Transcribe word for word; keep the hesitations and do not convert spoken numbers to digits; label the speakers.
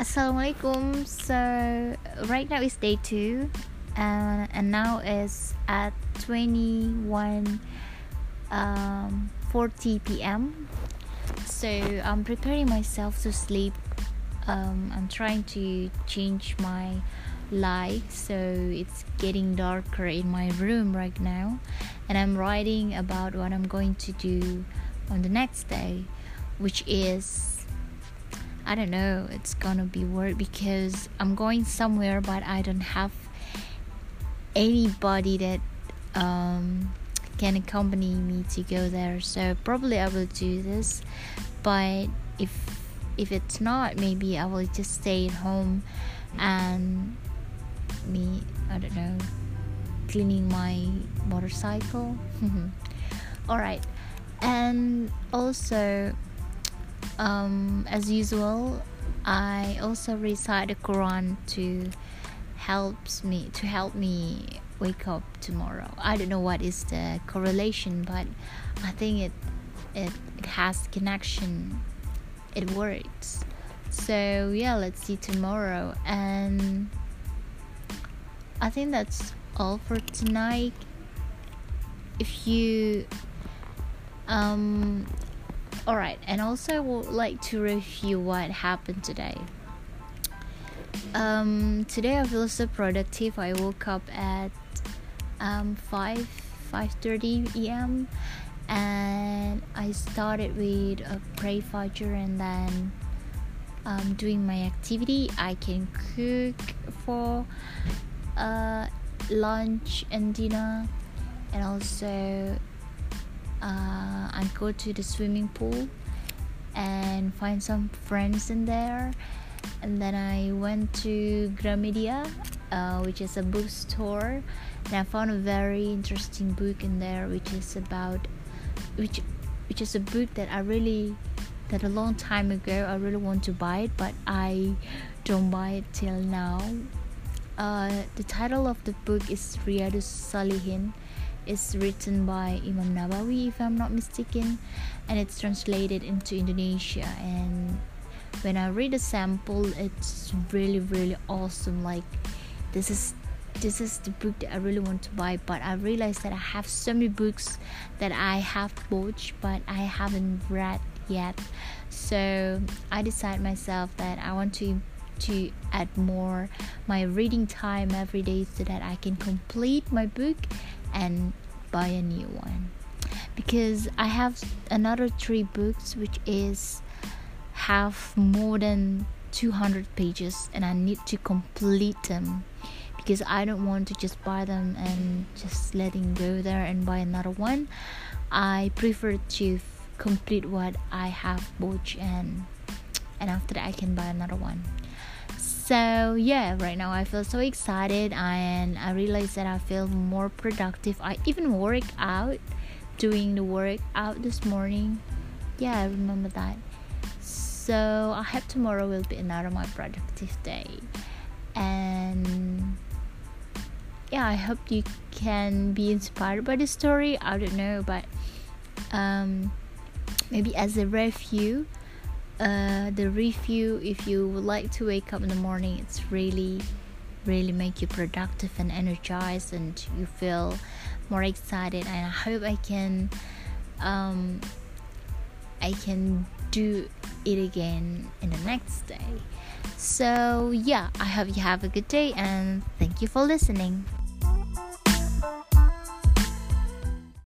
Speaker 1: Assalamualaikum. So right now is day two, uh, and now is at twenty-one um, forty p.m. So I'm preparing myself to sleep. Um, I'm trying to change my light, so it's getting darker in my room right now, and I'm writing about what I'm going to do on the next day, which is I don't know, it's gonna be work because I'm going somewhere, but I don't have anybody that um, can accompany me to go there. So probably I will do this, but if if it's not, maybe I will just stay at home and me I don't know cleaning my motorcycle. All right, and also. Um, as usual, I also recite the Quran to helps me to help me wake up tomorrow. I don't know what is the correlation, but I think it it, it has connection. It works. So yeah, let's see tomorrow. And I think that's all for tonight. If you um Alright, and also I would like to review what happened today. Um, today I feel so productive. I woke up at um, five thirty a.m. and I started with a pray fajr and then um, doing my activity. I can cook for uh, lunch and dinner, and also Uh, I go to the swimming pool and find some friends in there, and then I went to Gramedia, uh, which is a bookstore, and I found a very interesting book in there, which is about which which is a book that I really that a long time ago I really want to buy it, but I don't buy it till now. Uh, the title of the book is Riyadus Salihin. It's written by Imam Nawawi, if I'm not mistaken, and it's translated into Indonesia. And when I read a sample, it's really really awesome. Like this is this is the book that I really want to buy, but I realized that I have so many books that I have bought but I haven't read yet. So I decided myself that I want to to add more my reading time every day so that I can complete my book and buy a new one, because I have another three books which is have more than two hundred pages, and I need to complete them, because I don't want to just buy them and just letting go there and buy another one. I prefer to f- complete what I have bought, and and after that I can buy another one. So yeah, right now I feel so excited, and I realize that I feel more productive. I even work out, doing the workout this morning. Yeah, I remember that. So I hope tomorrow will be another my productive day. And yeah, I hope you can be inspired by the story. I don't know, but um, maybe as a review. Uh, the review, if you would like to wake up in the morning, it's really really make you productive and energized, and you feel more excited, and I hope I can um, I can do it again in the next day. So yeah, I hope you have a good day, and thank you for listening.